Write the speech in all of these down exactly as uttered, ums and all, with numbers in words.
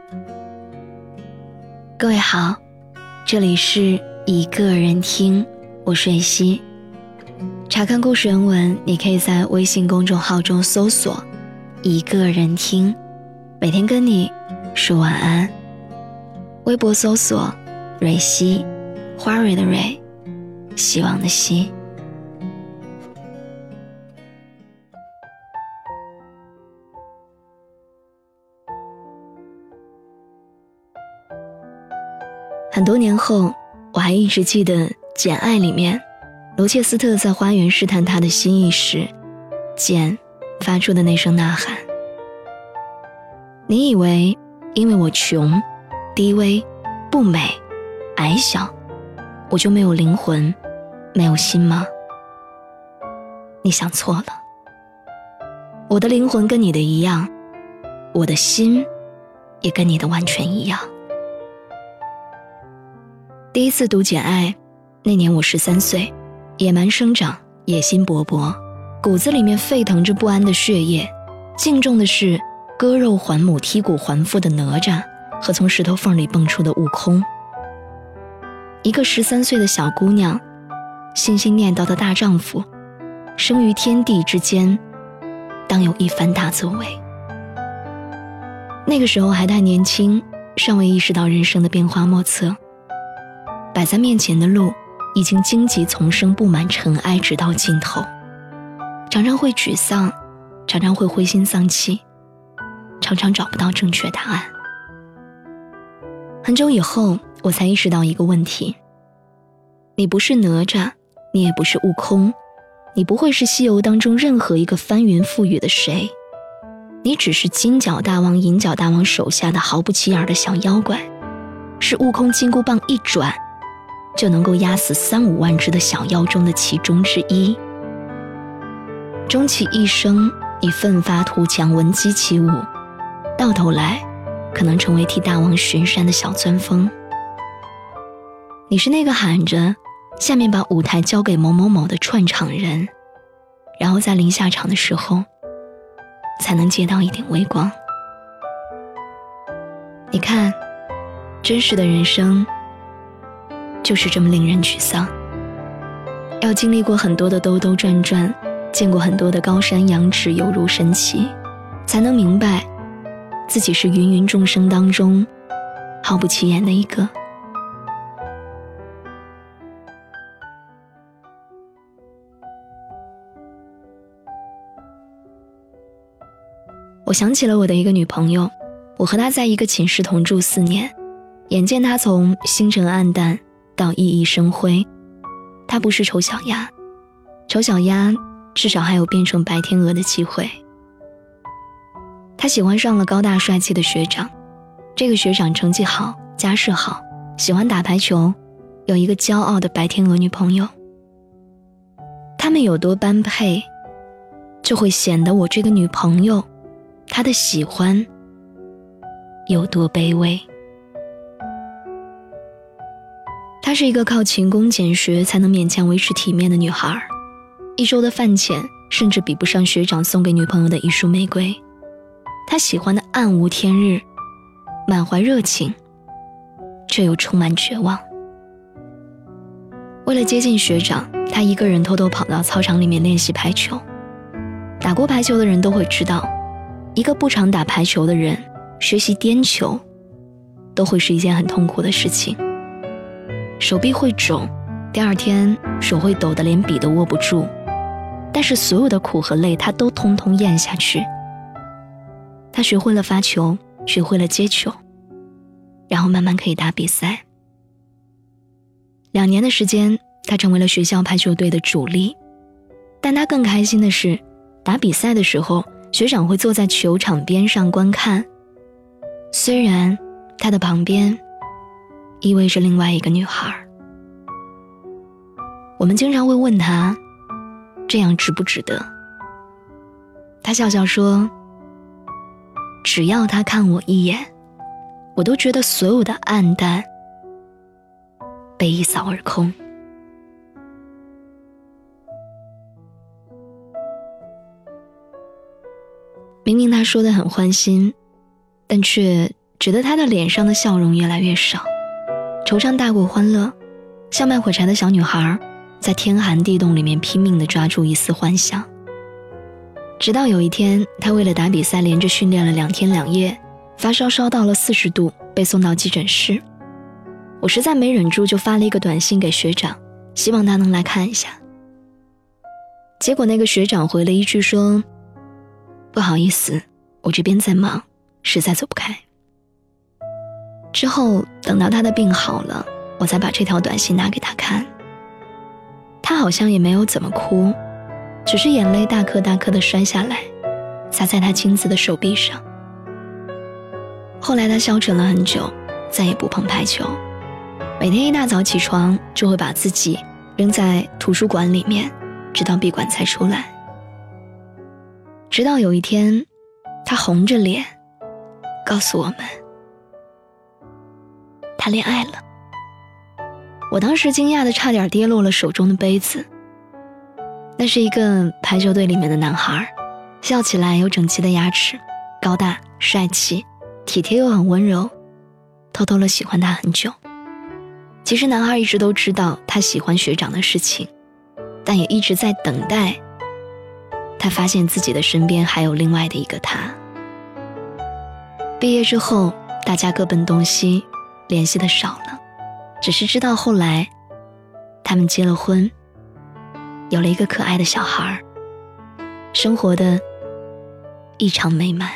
各位好，这里是一个人听，我是蕊希。查看故事原文，你可以在微信公众号中搜索一个人听，每天跟你说晚安。微博搜索蕊希，花蕊的蕊，希望的希。很多年后，我还一直记得《简爱》里面罗切斯特在花园试探他的心意时，简发出的那声呐喊。你以为因为我穷、低微、不美、矮小，我就没有灵魂、没有心吗？你想错了。我的灵魂跟你的一样，我的心也跟你的完全一样。第一次读《简爱》，那年我十三岁，野蛮生长，野心勃勃，骨子里面沸腾着不安的血液，敬重的是割肉还母、剔骨还父的哪吒和从石头缝里蹦出的悟空。一个十三岁的小姑娘，心心念叨的大丈夫，生于天地之间，当有一番大作为。那个时候还太年轻，尚未意识到人生的变化莫测，摆在面前的路已经荆棘丛生，布满尘埃，直到尽头。常常会沮丧，常常会灰心丧气，常常找不到正确答案。很久以后，我才意识到一个问题：你不是哪吒，你也不是悟空，你不会是西游当中任何一个翻云覆雨的谁，你只是金角大王、银角大王手下的毫不起眼的小妖怪，是悟空金箍棒一转就能够压死三五万只的小妖中的其中之一。终其一生，你奋发图强，闻鸡起舞，到头来可能成为替大王巡山的小钻风。你是那个喊着下面把舞台交给某某某的串场人，然后在临下场的时候才能接到一点微光。你看，真实的人生就是这么令人沮丧，要经历过很多的兜兜转转，见过很多的高山仰止，犹如神奇，才能明白自己是芸芸众生当中毫不起眼的一个。我想起了我的一个女朋友，我和她在一个寝室同住四年，眼见她从星辰暗淡到熠熠生辉。她不是丑小鸭，丑小鸭至少还有变成白天鹅的机会。她喜欢上了高大帅气的学长，这个学长成绩好，家世好，喜欢打排球，有一个骄傲的白天鹅女朋友。他们有多般配，就会显得我这个女朋友她的喜欢有多卑微。她是一个靠勤工俭学才能勉强维持体面的女孩，一周的饭钱甚至比不上学长送给女朋友的一束玫瑰。她喜欢的暗无天日，满怀热情，却又充满绝望。为了接近学长，她一个人偷偷跑到操场里面练习排球。打过排球的人都会知道，一个不常打排球的人学习颠球都会是一件很痛苦的事情，手臂会肿，第二天手会抖得连笔都握不住，但是所有的苦和累他都通通咽下去。他学会了发球，学会了接球，然后慢慢可以打比赛。两年的时间，他成为了学校排球队的主力，但他更开心的是，打比赛的时候学长会坐在球场边上观看，虽然他的旁边依偎着另外一个女孩。我们经常会问他，这样值不值得？他笑笑说，只要他看我一眼，我都觉得所有的暗淡被一扫而空。明明他说得很欢心，但却只得他的脸上的笑容越来越少，惆怅大过欢乐，像卖火柴的小女孩在天寒地冻里面拼命地抓住一丝幻想。直到有一天，他为了打比赛连着训练了两天两夜，发烧烧到了四十度，被送到急诊室。我实在没忍住，就发了一个短信给学长，希望他能来看一下。结果那个学长回了一句说，不好意思，我这边在忙，实在走不开。之后等到他的病好了，我才把这条短信拿给他看。他好像也没有怎么哭，只是眼泪大颗大颗地摔下来，洒在他青紫的手臂上。后来他消沉了很久，再也不碰排球，每天一大早起床就会把自己扔在图书馆里面，直到闭馆才出来。直到有一天，他红着脸告诉我们，他恋爱了。我当时惊讶的差点跌落了手中的杯子。那是一个排球队里面的男孩，笑起来有整齐的牙齿，高大帅气，体贴又很温柔，偷偷的喜欢他很久。其实男孩一直都知道他喜欢学长的事情，但也一直在等待他发现自己的身边还有另外的一个他。毕业之后，大家各奔东西，联系的少了，只是知道后来他们结了婚，有了一个可爱的小孩，生活的异常美满。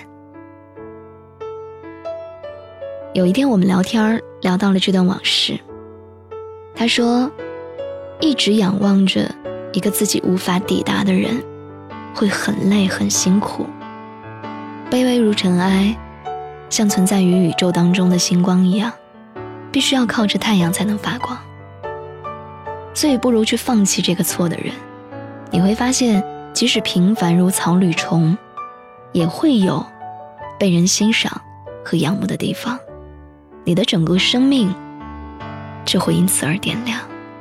有一天我们聊天，聊到了这段往事。他说，一直仰望着一个自己无法抵达的人，会很累很辛苦，卑微如尘埃，像存在于宇宙当中的星光一样，必须要靠着太阳才能发光。所以不如去放弃这个错的人，你会发现即使平凡如草履虫，也会有被人欣赏和仰慕的地方，你的整个生命就会因此而点亮。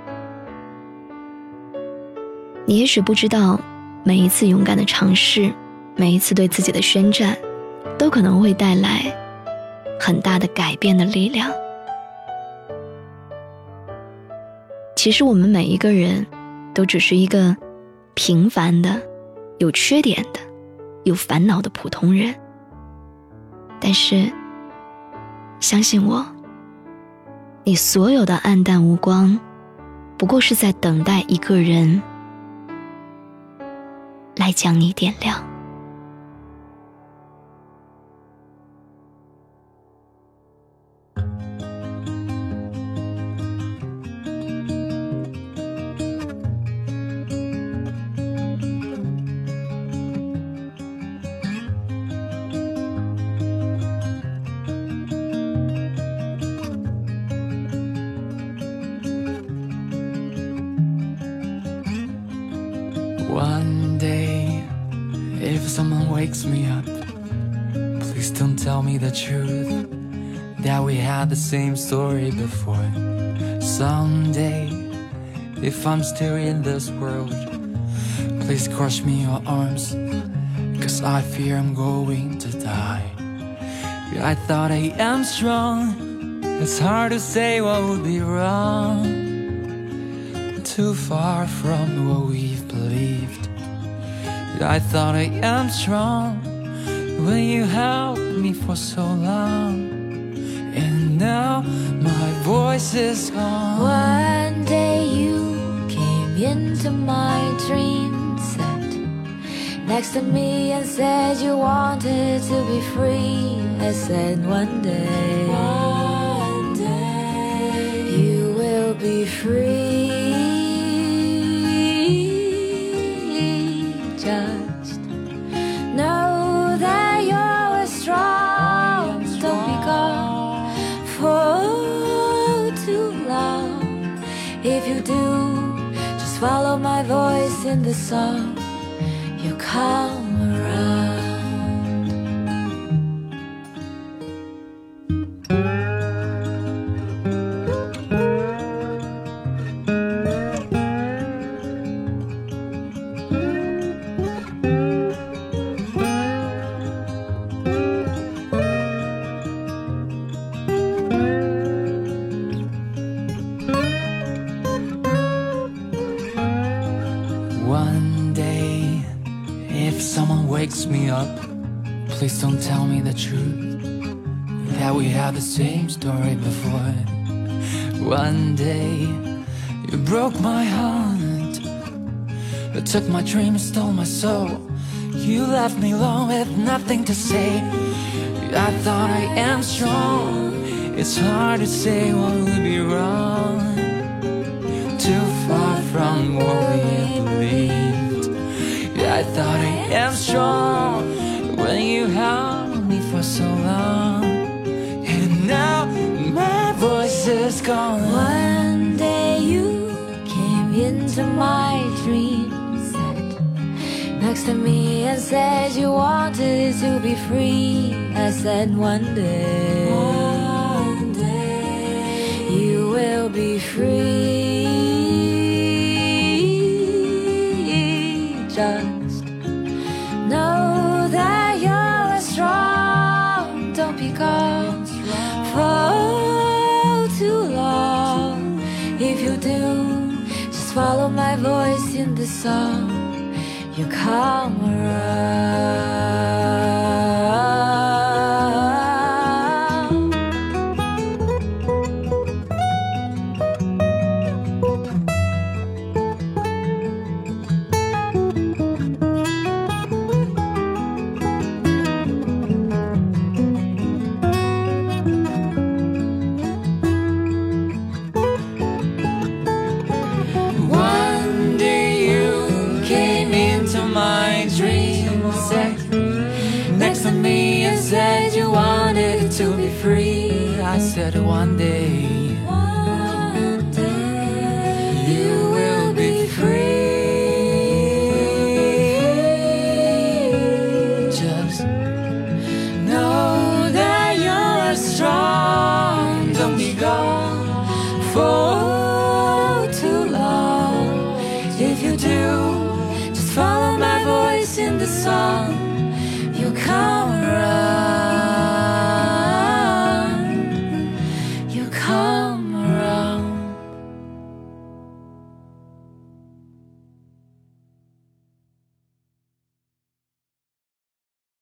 你也许不知道，每一次勇敢的尝试，每一次对自己的宣战，都可能会带来很大的改变的力量。其实我们每一个人都只是一个平凡的、有缺点的、有烦恼的普通人，但是相信我，你所有的暗淡无光，不过是在等待一个人来将你点亮。 One day, if someone wakes me up, please don't tell me the truth, that we had the same story before. Someday, if I'm still in this world, please crush me your arms, cause I fear I'm going to die. Yeah, I thought I am strong, it's hard to say what would be wrong. Too far from what we've believed. I thought I am strong when you held me for so long, and now my voice is gone. One day you came into my dream, sat next to me and said you wanted to be free. I said one day, one day you will be free. Just know that you're strong. Don't be gone for too long. If you do, just follow my voice in the song. You'll come around. up. Please don't tell me the truth, that we had the same story before. One day you broke my heart, you took my dream and stole my soul. You left me alone with nothing to say. I thought I am strong, it's hard to say what would be wrong. Too far from what we believed. I thought I am strong when you held me for so long. And now my voice is gone. One day you came into my dreams, sat next to me and said you wanted to be free. I said one day, one day you will be free. Just know that you're strong. Don't be gone for too long. If you do, just follow my voice in the song. You come around. To be free, I said one day